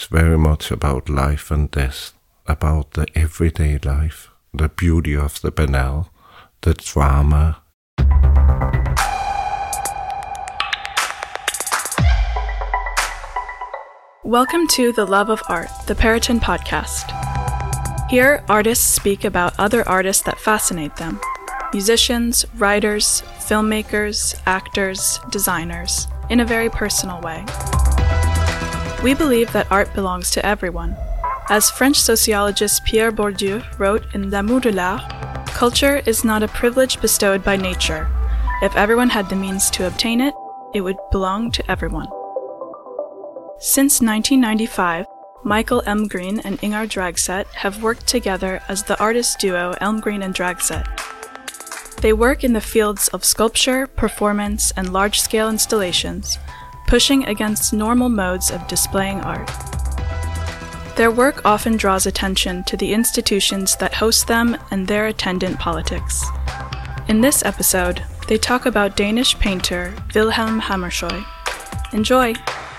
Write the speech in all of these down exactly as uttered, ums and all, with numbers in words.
It's very much about life and death, about the everyday life, the beauty of the banal, the drama. Welcome to The Love of Art, the Periton podcast. Here, artists speak about other artists that fascinate them. Musicians, writers, filmmakers, actors, designers, in a very personal way. We believe that art belongs to everyone. As French sociologist Pierre Bourdieu wrote in L'amour de l'art, culture is not a privilege bestowed by nature. If everyone had the means to obtain it, it would belong to everyone. Since nineteen ninety-five, Michael Elmgreen and Ingar Dragset have worked together as the artist duo Elmgreen and Dragset. They work in the fields of sculpture, performance, and large-scale installations, pushing against normal modes of displaying art. Their work often draws attention to the institutions that host them and their attendant politics. In this episode, they talk about Danish painter Vilhelm Hammershøi. Enjoy!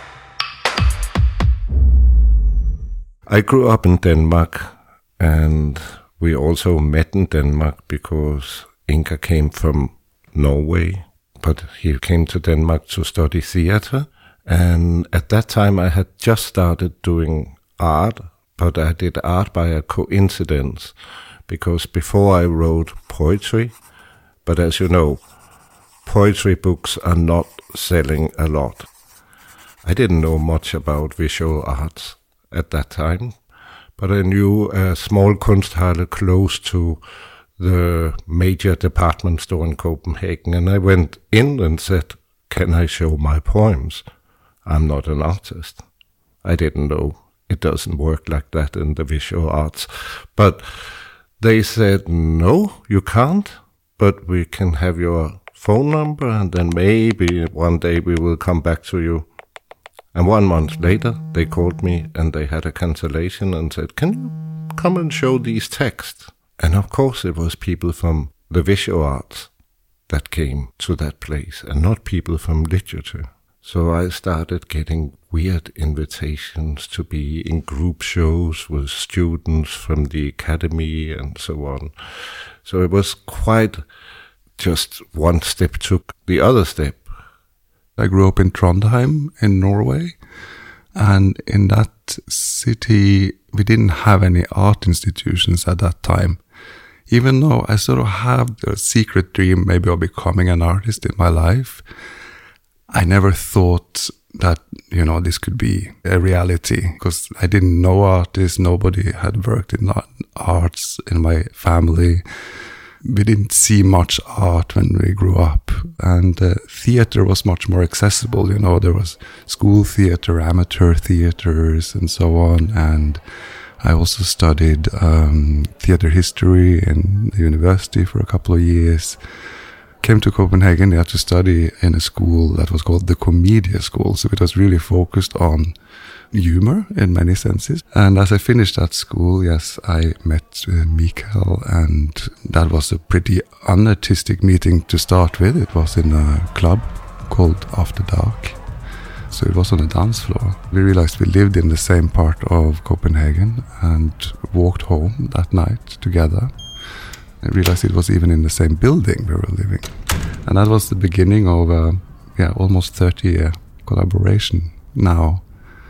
I grew up in Denmark, and we also met in Denmark because Ingar came from Norway, but he came to Denmark to study theater. And at that time I had just started doing art, but I did art by a coincidence, because before I wrote poetry, but as you know, poetry books are not selling a lot. I didn't know much about visual arts at that time, but I knew a small Kunsthalle close to the major department store in Copenhagen, and I went in and said, "Can I show my poems? I'm not an artist." I didn't know. It doesn't work like that in the visual arts. But they said, "No, you can't, but we can have your phone number, and then maybe one day we will come back to you." And one month later, they called me and they had a cancellation and said, "Can you come and show these texts?" And of course it was people from the visual arts that came to that place and not people from literature. So I started getting weird invitations to be in group shows with students from the academy and so on. So it was quite just one step took the other step. I grew up in Trondheim in Norway, and in that city we didn't have any art institutions at that time. Even though I sort of have a secret dream maybe of becoming an artist in my life, I never thought that, you know, this could be a reality, because I didn't know artists, nobody had worked in arts in my family. We didn't see much art when we grew up, and uh, theater was much more accessible. You know, there was school theater, amateur theaters, and so on. And I also studied um, theater history in the university for a couple of years. Came to Copenhagen, I had to study in a school that was called the Comedia School, so it was really focused on humor in many senses. And as I finished that school, yes, I met uh, Mikael, and that was a pretty unartistic meeting to start with. It was in a club called After Dark, so it was on a dance floor. We realized we lived in the same part of Copenhagen and walked home that night together. I realized it was even in the same building we were living. And that was the beginning of a yeah, almost thirty-year collaboration now.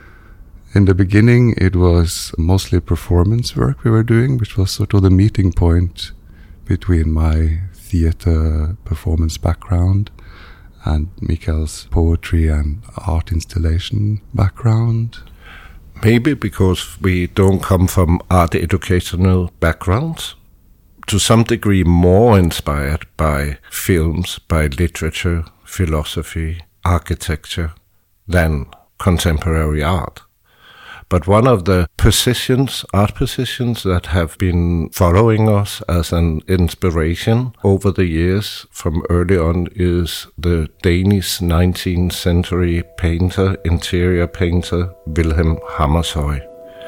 In the beginning, it was mostly performance work we were doing, which was sort of the meeting point between my theater performance background and Mikael's poetry and art installation background. Maybe because we don't come from art educational backgrounds. To some degree more inspired by films, by literature, philosophy, architecture than contemporary art. But one of the positions, art positions that have been following us as an inspiration over the years from early on is the Danish nineteenth century painter, interior painter, Vilhelm Hammershøi.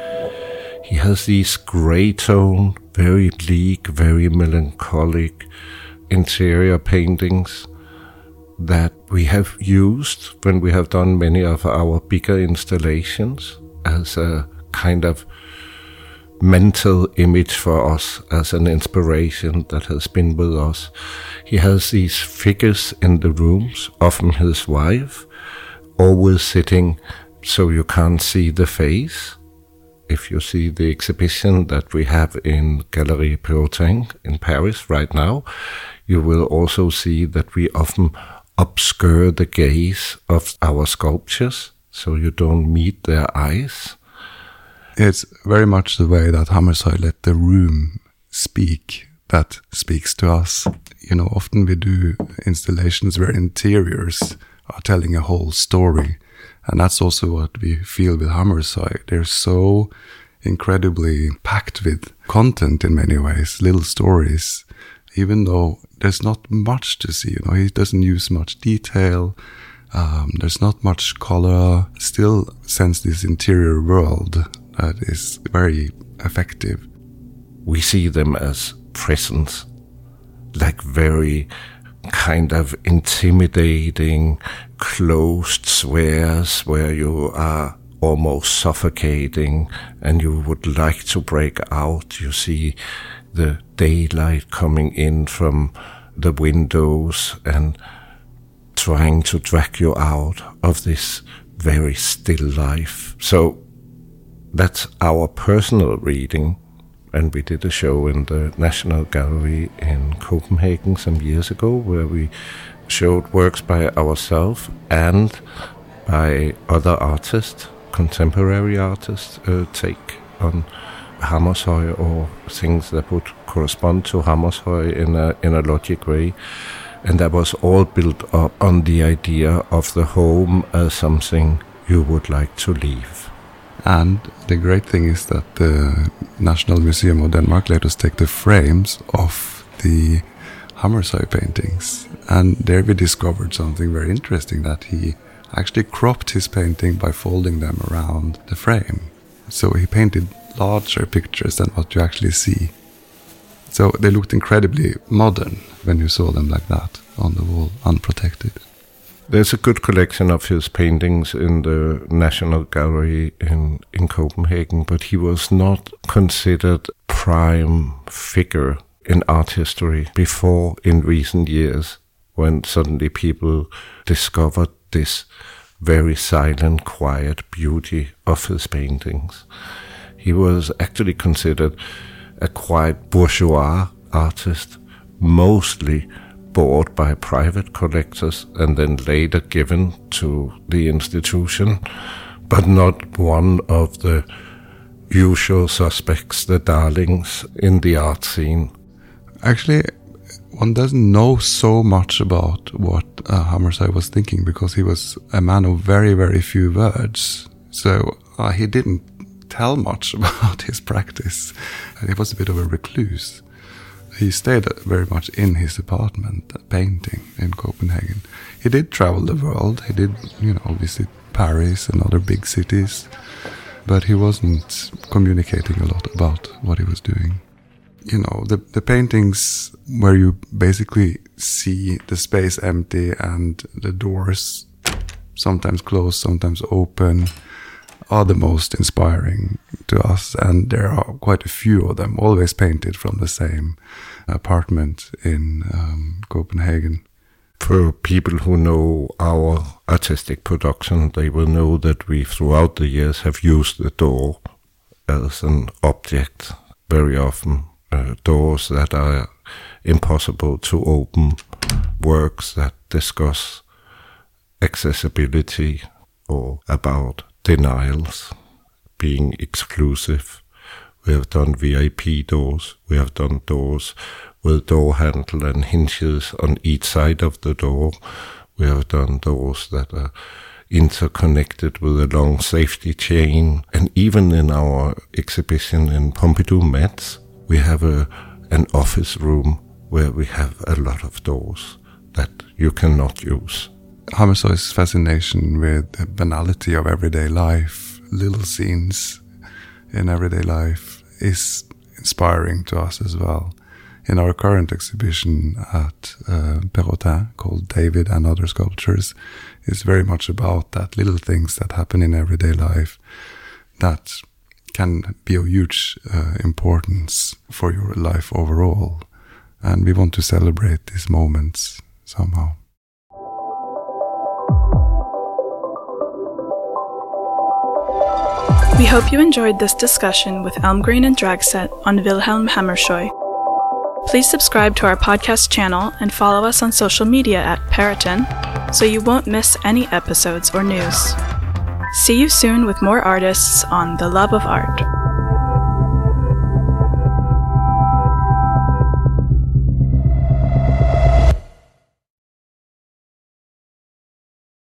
He has these grey tone, very bleak, very melancholic interior paintings that we have used when we have done many of our bigger installations. as a kind of mental image for us, as an inspiration that has been with us. He has these figures in the rooms, often his wife, always sitting so you can't see the face. If you see the exhibition that we have in Galerie Perrotin in Paris right now, you will also see that we often obscure the gaze of our sculptures, so you don't meet their eyes. It's very much the way that Hammershøi let the room speak that speaks to us. You know, often we do installations where interiors are telling a whole story. And that's also what we feel with Hammershøi. They're so incredibly packed with content in many ways, little stories, even though there's not much to see. You know, he doesn't use much detail. Um, there's not much color. Still sense this interior world that is very effective. We see them as presence, like very kind of intimidating, closed spheres where you are almost suffocating and you would like to break out. You see the daylight coming in from the windows and trying to drag you out of this very still life. So that's our personal reading. And we did a show in the National Gallery in Copenhagen some years ago where we showed works by ourselves and by other artists, contemporary artists, uh, take on Hammershøi or things that would correspond to Hammershøi in a, in a logic way. And that was all built up on the idea of the home as something you would like to leave. And the great thing is that the National Museum of Denmark let us take the frames of the Hammershøi paintings. And there we discovered something very interesting, that he actually cropped his painting by folding them around the frame. So he painted larger pictures than what you actually see. So they looked incredibly modern when you saw them like that on the wall, unprotected. There's a good collection of his paintings in the National Gallery in, in Copenhagen, but he was not considered prime figure in art history before in recent years, when suddenly people discovered this very silent, quiet beauty of his paintings. He was actually considered a quite bourgeois artist, mostly bought by private collectors and then later given to the institution, but not one of the usual suspects, the darlings in the art scene. Actually, one doesn't know so much about what uh, Hammershøi was thinking, because he was a man of very, very few words. So uh, he didn't tell much about his practice. He was a bit of a recluse. He stayed very much in his apartment, painting in Copenhagen. He did travel the world. He did, you know, visit Paris and other big cities, but he wasn't communicating a lot about what he was doing. You know, the the paintings where you basically see the space empty and the doors sometimes closed, sometimes open, are the most inspiring to us, and there are quite a few of them, always painted from the same apartment in um, Copenhagen. For people who know our artistic production, they will know that we throughout the years have used the door as an object very often. Uh, doors that are impossible to open, works that discuss accessibility or about denials, being exclusive. We have done V I P doors, we have done doors with door handle and hinges on each side of the door. We have done doors that are interconnected with a long safety chain. And even in our exhibition in Pompidou Metz, we have a an office room where we have a lot of doors that you cannot use. Hammershøi's fascination with the banality of everyday life, little scenes in everyday life, is inspiring to us as well. In our current exhibition at uh, Perrotin, called David and Other Sculptures, is very much about that, little things that happen in everyday life that can be of huge uh, importance for your life overall. And we want to celebrate these moments somehow. We hope you enjoyed this discussion with Elmgreen and Dragset on Wilhelm Hammershøi. Please subscribe to our podcast channel and follow us on social media at Periton so you won't miss any episodes or news. See you soon with more artists on The Love of Art.